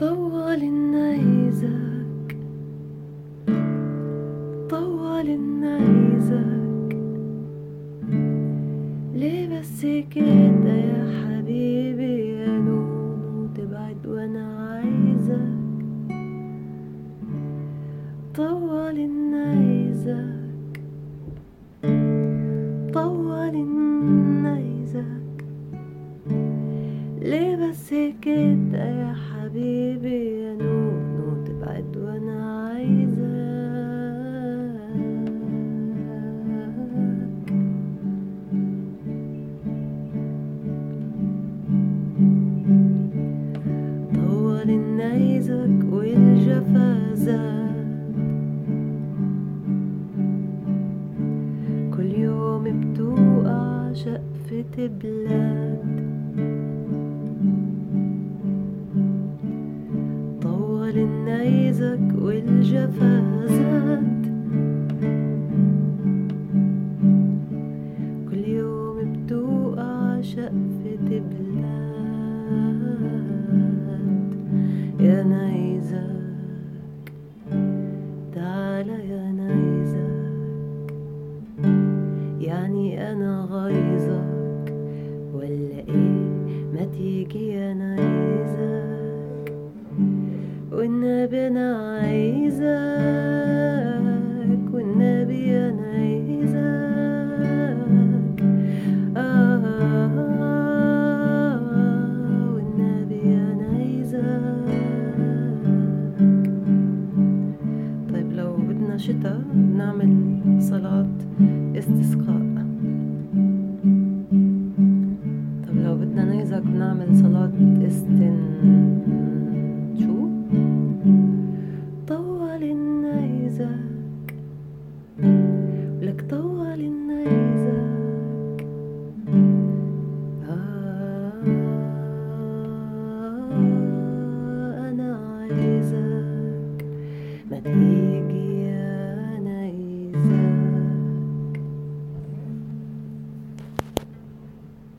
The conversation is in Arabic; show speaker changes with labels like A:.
A: طول النيزك، طول النيزك، ليه بس كده يا حبيبي يا نونو تبعد وانا عايزك. طول النيزك، طول النيزك، ليه بس كده يا حبيبي يا نونو تبعد وانا عايزك. طول النيزك والجفا زاد، كل يوم بتوقع شقفة بلاد. طول النيزك والجفا زاد، كل يوم بتوقع شقفة بلاد. يا نيزك تعالى يا نيزك، يعني أنا غيظك ولا إيه؟ ما تيجي يا نيزك، والنبي أنا عايزك، والنبي يا نيزك. والنبي يا نيزك. طيب لو بدنا شتا نعمل صلاة استسقاء. طب لو بدنا نيزك بنعمل صلاة شو؟ طول النيزك، لك طول النيزك. أنا عايزك، ما تيجي